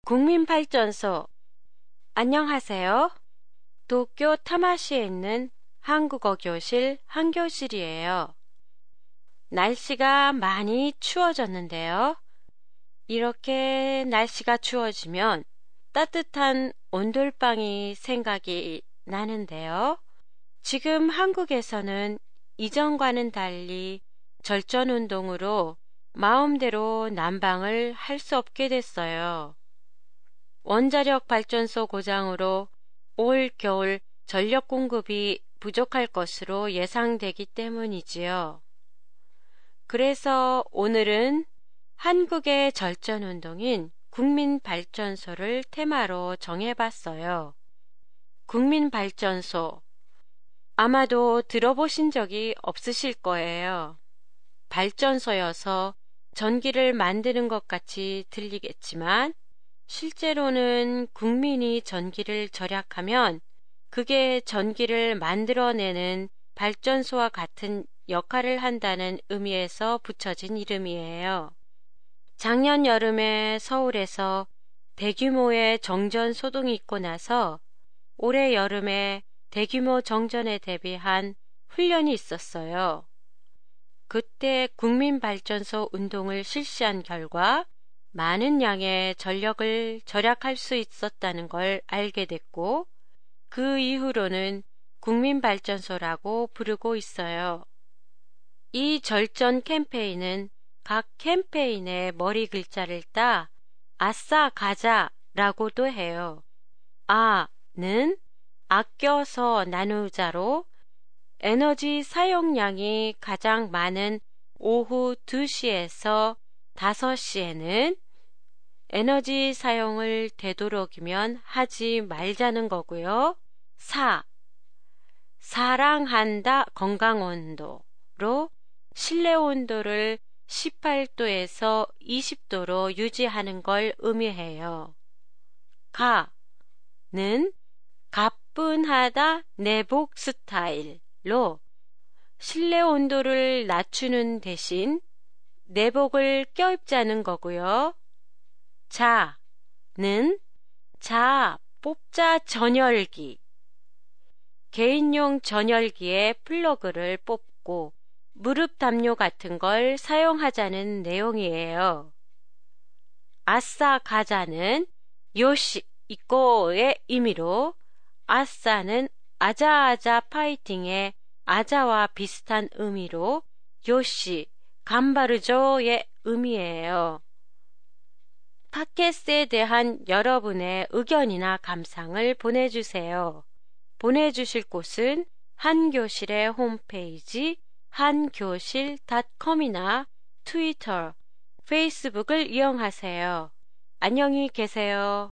국민발전소. 안녕하세요. 도쿄 타마시에 있는 한국어 교실 한교실이에요. 날씨가 많이 추워졌는데요. 이렇게 날씨가 추워지면 따뜻한 온돌방이 생각이 나는데요. 지금 한국에서는 이전과는 달리 절전운동으로 마음대로 난방을 할 수 없게 됐어요. 원자력 발전소 고장으로 올 겨울 전력 공급이 부족할 것으로 예상되기 때문이지요. 그래서 오늘은 한국의 절전운동인 국민발전소를 테마로 정해봤어요. 국민발전소. 아마도 들어보신 적이 없으실 거예요. 발전소여서 전기를 만드는 것 같이 들리겠지만 실제로는 국민이 전기를 절약하면 그게 전기를 만들어내는 발전소와 같은 역할을 한다는 의미에서 붙여진 이름이에요. 작년 여름에 서울에서 대규모의 정전 소동이 있고 나서 올해 여름에 대규모 정전에 대비한 훈련이 있었어요. 그때 국민발전소 운동을 실시한 결과 많은 양의 전력을 절약할 수 있었다는 걸 알게 됐고 그 이후로는 국민발전소라고 부르고 있어요. 이 절전 캠페인은 각 캠페인의 머리 글자를 따 아싸 가자라고도 해요. 아는 아껴서 나누자로 에너지 사용량이 가장 많은 오후 2시에서 5시에는 에너지 사용을 되도록이면 하지 말자는 거고요. 사랑한다 건강온도로 실내 온도를 18도에서 20도로 유지하는 걸 의미해요. 가는 가뿐하다 내복 스타일로 실내 온도를 낮추는 대신 내복을 껴입자는 거고요. 자는 뽑자 전열기. 개인용 전열기에 플러그를 뽑고 무릎 담요 같은 걸 사용하자는 내용이에요. 아싸 가자는 요시 이꼬의 의미로 아싸는 아자아자 파이팅의 아자와 비슷한 의미로 요시 간바르조의 의미예요. 팟캐스트에 대한 여러분의 의견이나 감상을 보내주세요. 보내주실 곳은 한교실의 홈페이지 한교실.com이나 트위터, 페이스북을 이용하세요. 안녕히 계세요.